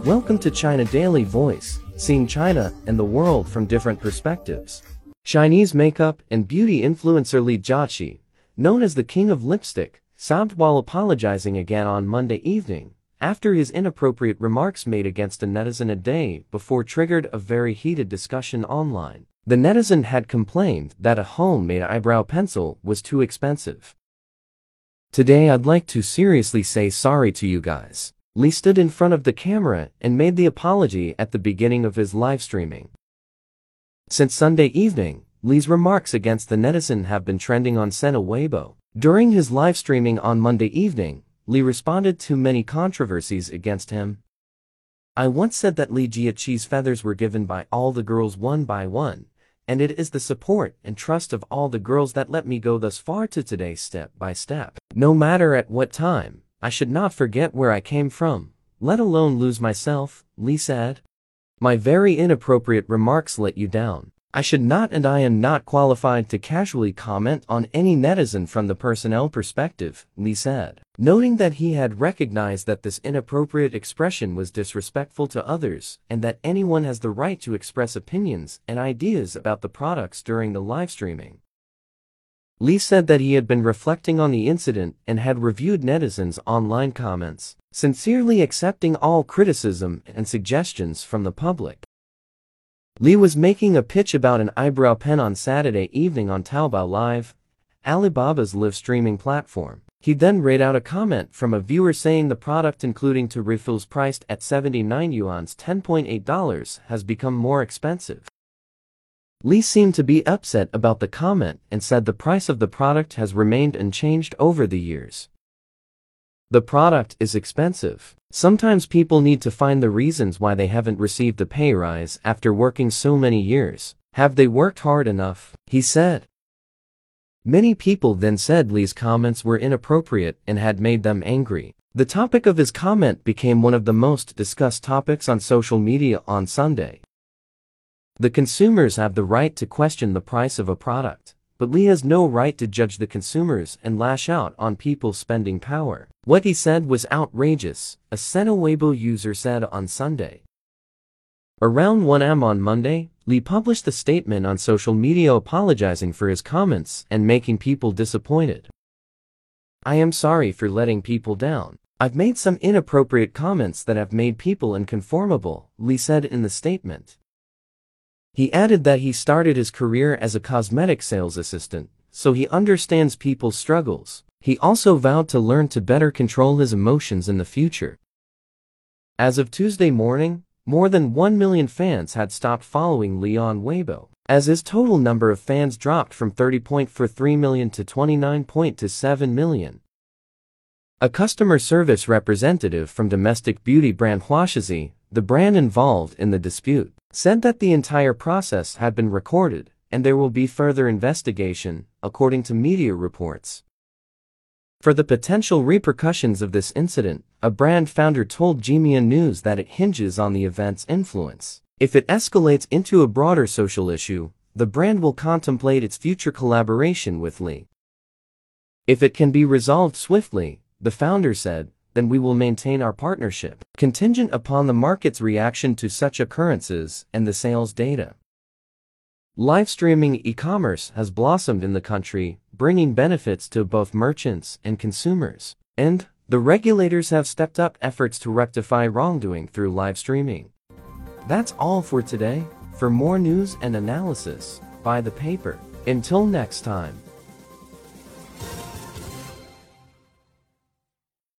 Welcome to China Daily Voice, seeing China and the world from different perspectives. Chinese makeup and beauty influencer Li Jiaqi, known as the king of lipstick, sobbed while apologizing again on Monday evening, after his inappropriate remarks made against a netizen a day before triggered a very heated discussion online. The netizen had complained that a homemade eyebrow pencil was too expensive. "Today I'd like to seriously say sorry to you guys." Li stood in front of the camera and made the apology at the beginning of his live streaming. Since Sunday evening, Li's remarks against the netizen have been trending on Sina Weibo. During his live streaming on Monday evening, Li responded to many controversies against him. "I once said that Li Jiaqi's feathers were given by all the girls one by one, and it is the support and trust of all the girls that let me go thus far to today step by step. No matter at what time, I should not forget where I came from, let alone lose myself," Li said. "My very inappropriate remarks let you down. I should not, and I am not qualified to casually comment on any netizen from the personnel perspective," Li said, noting that he had recognized that this inappropriate expression was disrespectful to others and that anyone has the right to express opinions and ideas about the products during the live streaming. Li said that he had been reflecting on the incident and had reviewed netizens' online comments, sincerely accepting all criticism and suggestions from the public. Li was making a pitch about an eyebrow pen on Saturday evening on Taobao Live, Alibaba's live streaming platform. He then read out a comment from a viewer saying the product, including two refills priced at 79 yuans $10.8, has become more expensive. Li seemed to be upset about the comment and said the price of the product has remained unchanged over the years. "The product is expensive. Sometimes people need to find the reasons why they haven't received a pay rise after working so many years. Have they worked hard enough?" he said. Many people then said Li's comments were inappropriate and had made them angry. The topic of his comment became one of the most discussed topics on social media on Sunday. The consumers have the right to question the price of a product, but Li has no right to judge the consumers and lash out on people's spending power. What he said was outrageous, a Sina Weibo user said on Sunday. Around 1 am on Monday, Li published a statement on social media apologizing for his comments and making people disappointed. "I am sorry for letting people down. I've made some inappropriate comments that have made people unconformable," Li said in the statement. He added that he started his career as a cosmetic sales assistant, so he understands people's struggles. He also vowed to learn to better control his emotions in the future. As of Tuesday morning, more than 1 million fans had stopped following Li on Weibo, as his total number of fans dropped from 30.43 million to 29.27 million. A customer service representative from domestic beauty brand Huaxi, the brand involved in the dispute, said that the entire process had been recorded and there will be further investigation, according to media reports. For the potential repercussions of this incident, a brand founder told Jimian News that it hinges on the event's influence. If it escalates into a broader social issue, the brand will contemplate its future collaboration with Li. "If it can be resolved swiftly," the founder said, "then we will maintain our partnership, contingent upon the market's reaction to such occurrences and the sales data." Live streaming e-commerce has blossomed in the country, bringing benefits to both merchants and consumers, and the regulators have stepped up efforts to rectify wrongdoing through live streaming. That's all for today. For more news and analysis, buy the paper. Until next time.